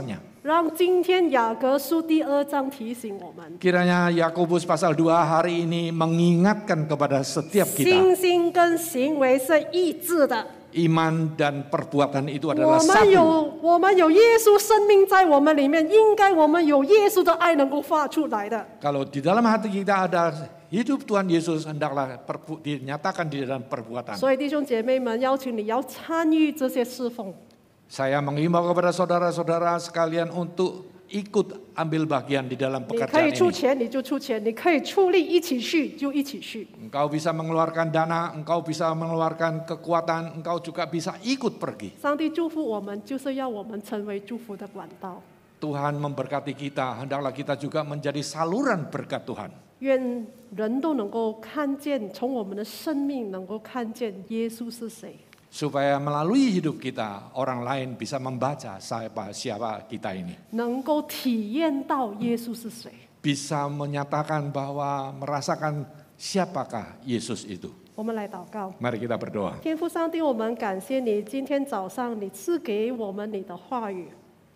让今天雅各书第二章提醒我们， Kiranya Yakobus pasal dua hari ini mengingatkan kepada setiap kita, 信心跟行为是一致的。 iman dan perbuatan itu 我 adalah 们 satu. 有我们有耶稣生命在我们里面，应该我们有耶稣的爱能够发出来的。 Kalau di dalam hati kita ada hidup Tuhan Yesus, hendaklah perbu- dinyatakan di dalam perbuatan. 所以弟兄姐妹们，邀请你要参与这些侍奉。 Saya mengimbau kepada saudara-saudara sekalian untuk ikut ambil bagian di dalam 你可 pekerjaan 以出 ini. 钱你就出钱，你可以出力一起去就一起去。 Engkau bisa mengeluarkan dana, engkau bisa mengeluarkan kekuatan, engkau juga bisa ikut pergi. 上帝祝福我们，就是要我们成为祝福的管道。 Tuhan memberkati kita, hendaklah kita juga menjadi saluran berkat Tuhan. 愿人都能够看见，从我们的生命能够看见耶稣是谁。 Supaya melalui hidup kita, orang lain bisa membaca siapa, siapa kita ini. 能够体验到耶稣是谁。 Bisa menyatakan bahwa merasakan siapakah Yesus itu. 我们来祷告， Mari kita berdoa. 天父上帝，我们感谢你，今天早上你赐给我们你的话语。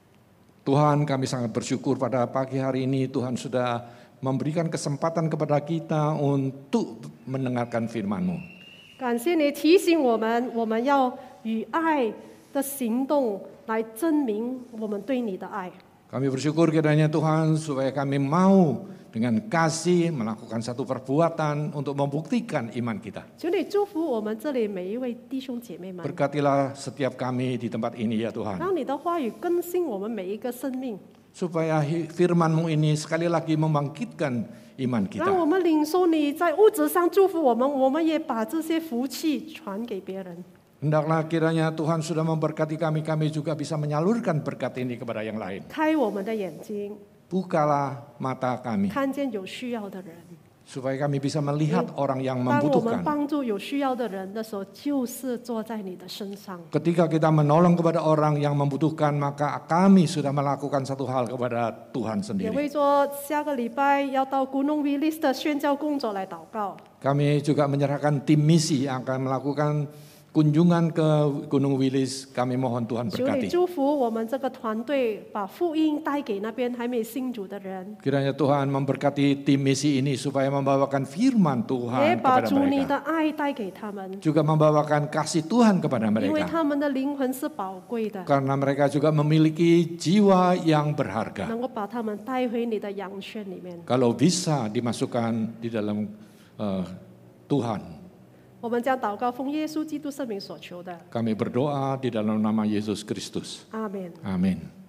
Tuhan, kami sangat bersyukur pada pagi hari ini Tuhan sudah memberikan kesempatan kepada kita untuk mendengarkan firman-Mu. 感谢你提醒我们，我们要以爱的行动来证明我们对你的爱。 Kami bersyukur kiranya Tuhan supaya kami mau dengan kasih melakukan satu perbuatan untuk membuktikan iman kita. 求你祝福我们这里每一位弟兄姐妹们， Berkatilah setiap kami di tempat ini ya Tuhan. 让你的话语更新我们每一个生命， Supaya firman-Mu ini sekali lagi membangkitkan iman 让 kita. 我们领受你在物质上祝福我们，我们也把这些福气传给别人。 Hendaklah kiranya Tuhan sudah memberkati kami, kami juga bisa menyalurkan berkat ini kepada yang lain. 开我们的眼睛， Bukalah mata kami, 看见有需要的人。 supaya kami bisa melihat orang yang 当我们 membutuhkan. 帮助有需要的人的时候，就是坐在你的身上。 Ketika kita menolong kepada orang yang membutuhkan, maka kami sudah melakukan satu hal kepada Tuhan 也 sendiri. 为做下个礼拜要到古农 Willis 的宣教工作来祷告。 Kami juga menyerahkan tim misi yang akan melakukan kunjungan ke Gunung Wilis. Kami mohon Tuhan 求你 berkati. 祝福我们这个团队，把福音带给那边还没信主的人， Kiranya Tuhan memberkati tim misi ini supaya membawakan firman 也 Tuhan 把 kepada 主你 mereka. 的爱带给他们， Juga membawakan kasih Tuhan kepada 因为 mereka. 他们的灵魂是宝贵的， Karena mereka juga memiliki jiwa yang berharga. 能够把他们带回你的羊圈里面。 Kalau bisa dimasukkan di dalam eh, Tuhan. 我们将祷告奉耶稣基督圣名所求的， Kami berdoa di dalam nama Yesus Kristus. 阿门。 Amin.